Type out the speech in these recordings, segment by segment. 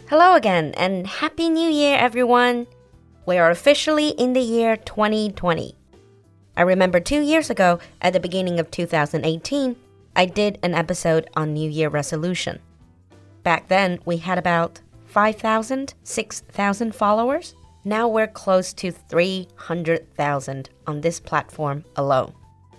Hello again and Happy New Year, everyone. We are officially in the year 2020. I remember 2 years ago, at the beginning of 2018, I did an episode on New Year resolution. Back then, we had about 5,000, 6,000 followers. Now we're close to 300,000 on this platform alone.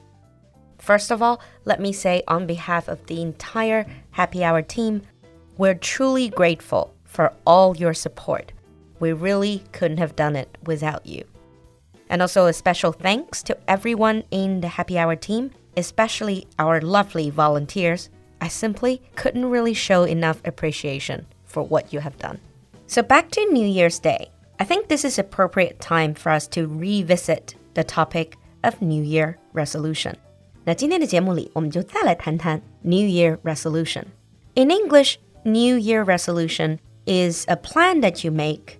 First of all, let me say on behalf of the entire Happy Hour team, we're truly grateful for all your support. We really couldn't have done it without you. And also a special thanks to everyone in the Happy Hour team, especially our lovely volunteers. I simply couldn't really show enough appreciation for what you have done. So back to New Year's Day. I think this is appropriate time for us to revisit the topic of New Year resolution. 那今天的节目里，我们就再来谈谈 New Year resolution. In English, New Year resolution is a plan that you make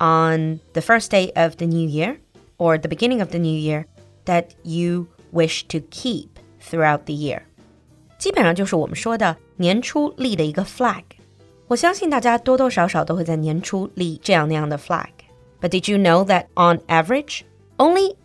on the first day of the new year or the beginning of the new year that you wish to keep throughout the year. 基本上就是我们说的年初立的一个 flag. 我相信大家多多少少都会在年初立这样那样的 flag. But did you know that on average, only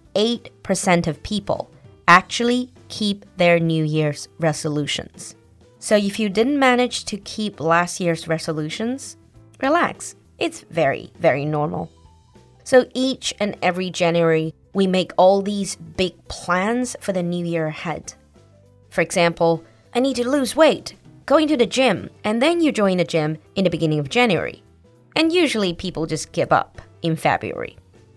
8% of people actually keep their New Year's resolutions? So if you didn't manage to keep last year's resolutions, relax. It's very, very normal. So each and every January, we make all these big plans for the new year ahead. For example, I need to lose weight, going to the gym, and then you join the gym in the beginning of January. And usually people just give up in February.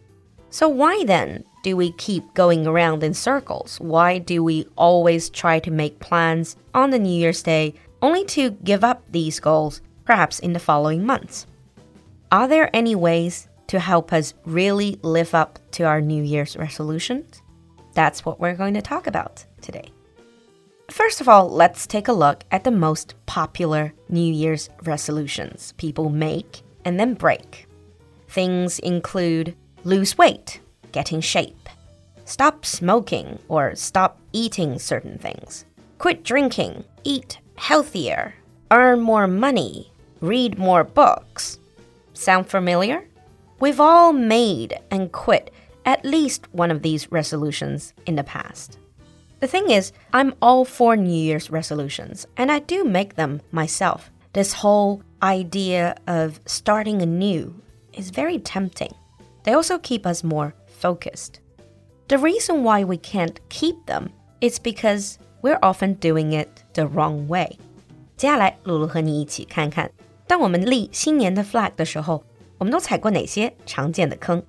So why then do we keep going around in circles? Why do we always try to make plans on the New Year's Day only to give up these goals perhaps in the following months? Are there any ways to help us really live up to our New Year's resolutions? That's what we're going to talk about today. First of all, let's take a look at the most popular New Year's resolutions people make and then break. Things include lose weight, get in shape, stop smoking or stop eating certain things, quit drinking, eat healthier, earn more money, read more books. Sound familiar? We've all made and quit at least one of these resolutions in the past. The thing is, I'm all for New Year's resolutions, and I do make them myself. This whole idea of starting anew is very tempting. They also keep us more focused. The reason why we can't keep them is because we're often doing it the wrong way. 接下来，露露和你一起看看，当我们立新年的 flag 的时候，我们都踩过哪些常见的坑？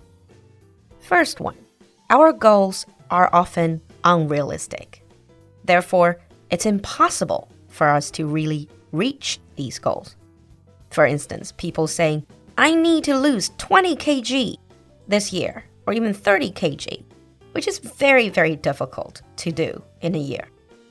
First one, our goals are often unrealistic. Therefore, it's impossible for us to really reach these goals. For instance, people saying, I need to lose 20 kg this year, or even 30 kg, which is very, very difficult to do in a year.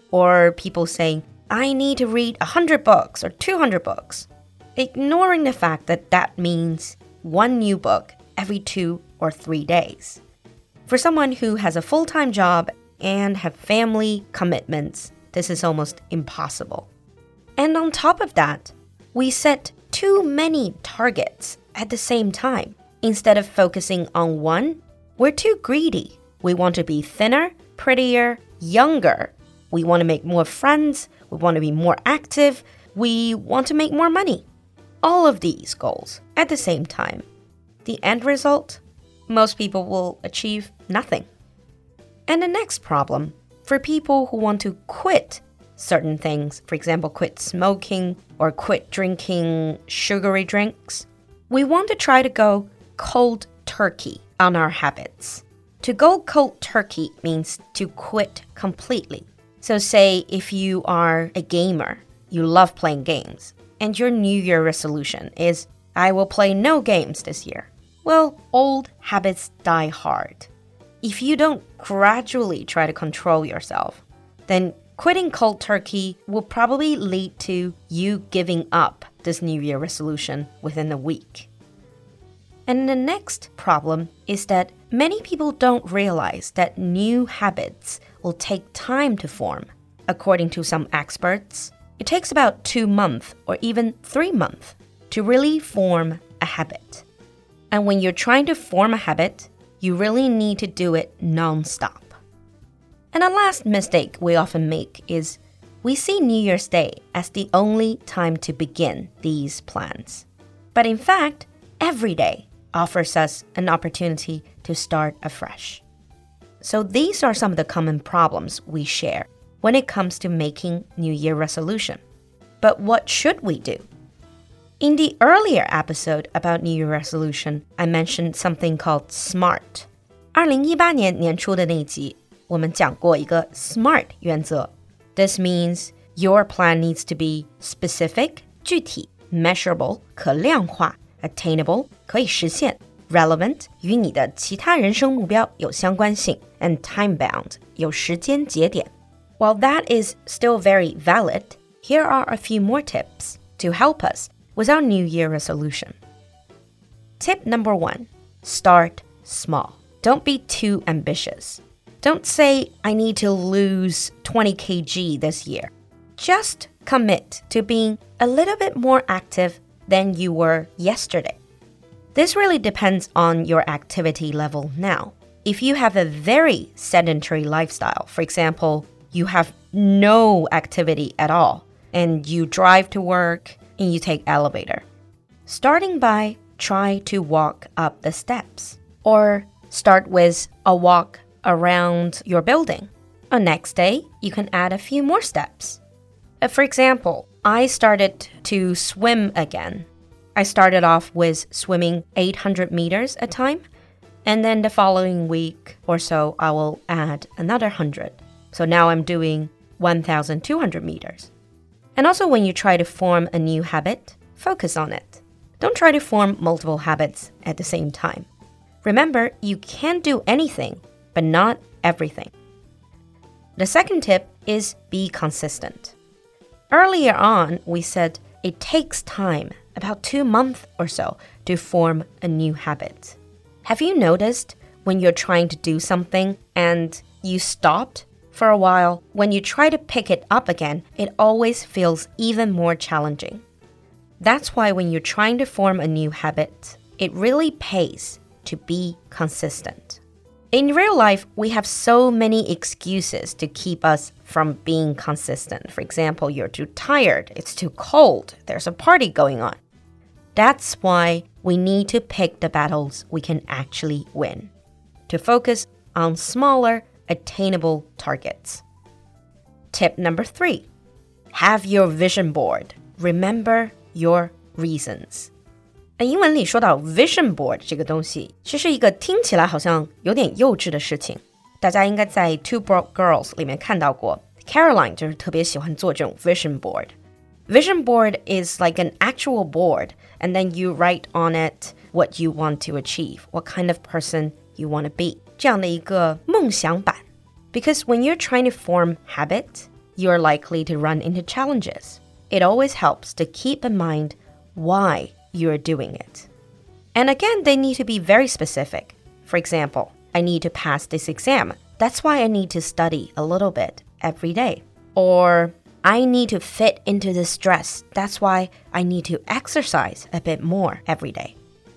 Or people saying, I need to read 100 books or 200 books, ignoring the fact that that means one new book every 2 or 3 days. For someone who has a full-time job and have family commitments, this is almost impossible. And on top of that, we set too many targets at the same time. Instead of focusing on one, we're too greedy. We want to be thinner, prettier, younger. We want to make more friends. We want to be more active. We want to make more money. All of these goals at the same time. The end result? Most people will achieve nothing. And the next problem, for people who want to quit certain things, for example, quit smoking or quit drinking sugary drinks, we want to try to go cold turkey on our habits. To go cold turkey means to quit completely. So say if you are a gamer, you love playing games, and your New Year resolution is, I will play no games this year. Well, old habits die hard. If you don't gradually try to control yourself, then quitting cold turkey will probably lead to you giving up this New Year resolution within a week. And the next problem is that many people don't realize that new habits will take time to form. According to some experts, it takes about 2 months or even 3 months. to really form a habit. And when you're trying to form a habit, you really need to do it non-stop. And a last mistake we often make is we see New Year's Day as the only time to begin these plans. But in fact, every day offers us an opportunity to start afresh. So these are some of the common problems we share when it comes to making New Year resolution. But what should we do? In the earlier episode about New Year resolution, I mentioned something called SMART. 2018年年初的那一集，我们讲过一个 SMART 原则。This means your plan needs to be specific 具体 measurable 可量化 attainable 可以实现 relevant 与你的其他人生目标有相关性 and time-bound 有时间节点。While that is still very valid, here are a few more tips to help us with our New Year resolution. Tip number 1, start small. Don't be too ambitious. Don't say, I need to lose 20 kg this year. Just commit to being a little bit more active than you were yesterday. This really depends on your activity level now. If you have a very sedentary lifestyle, for example, you have no activity at all, and you drive to work and you take elevator. Starting by try to walk up the steps, or start with a walk around your building. The next day, you can add a few more steps. For example, I started to swim again. I started off with swimming 800 meters a time, and then the following week or so, I will add another 100. So now I'm doing 1,200 meters. And also when you try to form a new habit, focus on it. Don't try to form multiple habits at the same time. Remember, you can do anything, but not everything. The second tip is be consistent. Earlier on, we said it takes time, about 2 months or so, to form a new habit. Have you noticed when you're trying to do something and you stopped for a while, when you try to pick it up again, it always feels even more challenging. That's why when you're trying to form a new habit, it really pays to be consistent. In real life, we have so many excuses to keep us from being consistent. For example, you're too tired, it's too cold, there's a party going on. That's why we need to pick the battles we can actually win, to focus on smaller, attainable targets. Tip number 3, have your vision board. Remember your reasons. 英文里说到 vision board 这个东西，其实是一个听起来好像有点幼稚的事情。大家应该在 Two Broke Girls 里面看到过 Caroline 就是特别喜欢做这种 vision board. Vision board is like an actual board, and then you write on it what you want to achieve, what kind of person you want to be. 这样的一个梦想版。Because when you're trying to form habit, you're likely to run into challenges. It always helps to keep in mind why you're doing it. And again, they need to be very specific. For example, I need to pass this exam. That's why I need to study a little bit every day. Or I need to fit into this dress. That's why I need to exercise a bit more every day.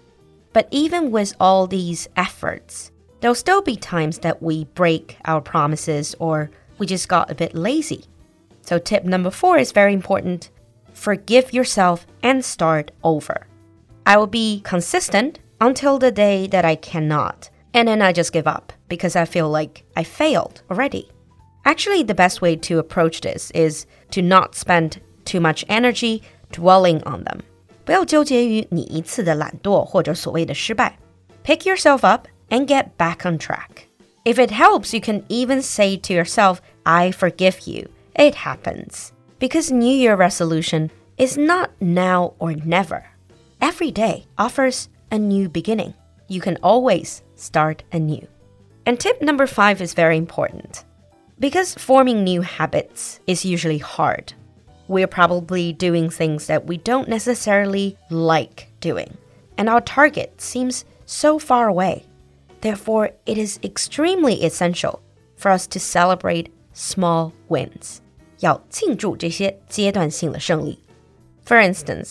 But even with all these efforts, there'll still be times that we break our promises or we just got a bit lazy. So tip number 4 is very important. Forgive yourself and start over. I will be consistent until the day that I cannot. And then I just give up because I feel like I failed already. Actually, the best way to approach this is to not spend too much energy dwelling on them. 不要纠结于你一次的懒惰或者所谓的失败。Pick yourself up and get back on track. If it helps, you can even say to yourself, I forgive you. It happens. Because New Year resolution is not now or never. Every day offers a new beginning. You can always start anew. And tip number 5 is very important. Because forming new habits is usually hard. We're probably doing things that we don't necessarily like doing. And our target seems so far away. Therefore, it is extremely essential for us to celebrate small wins. 要庆祝这些阶段性的胜利. For instance,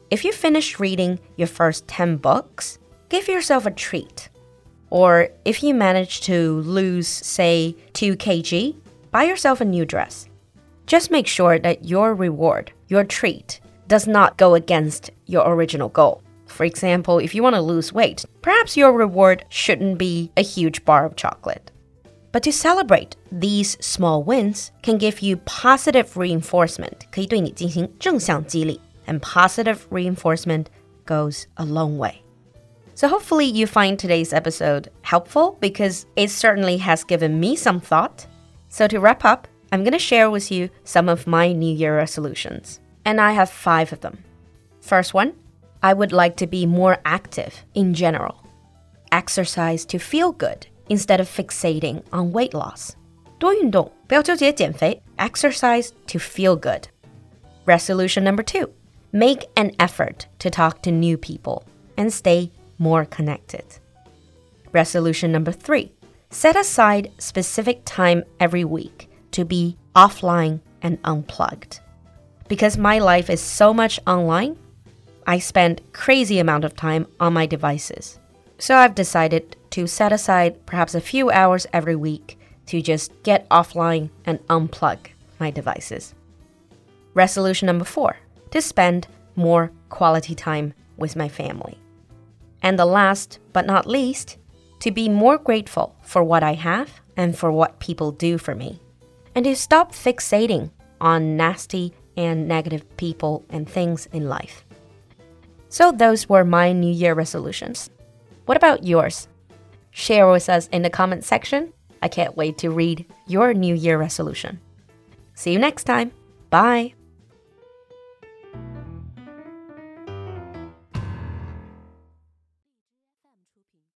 if you finish reading your first 10 books, give yourself a treat. Or if you manage to lose, say, 2 kg, buy yourself a new dress. Just make sure that your reward, your treat, does not go against your original goal. For example, if you want to lose weight, perhaps your reward shouldn't be a huge bar of chocolate. But to celebrate these small wins can give you positive reinforcement, 可以对你进行正向激励, and positive reinforcement goes a long way. So hopefully you find today's episode helpful because it certainly has given me some thought. So to wrap up, I'm going to share with you some of my New Year resolutions. And I have 5 of them. First one, I would like to be more active in general. Exercise to feel good instead of fixating on weight loss. 多运动，不要纠结减肥. Exercise to feel good. Resolution number 2, make an effort to talk to new people and stay more connected. Resolution number 3, set aside specific time every week to be offline and unplugged. Because my life is so much online, I spend crazy amount of time on my devices. So I've decided to set aside perhaps a few hours every week to just get offline and unplug my devices. Resolution number 4, to spend more quality time with my family. And the last but not least, to be more grateful for what I have and for what people do for me. And to stop fixating on nasty and negative people and things in life. So those were my New Year resolutions. What about yours? Share with us in the comment section. I can't wait to read your New Year resolution. See you next time. Bye.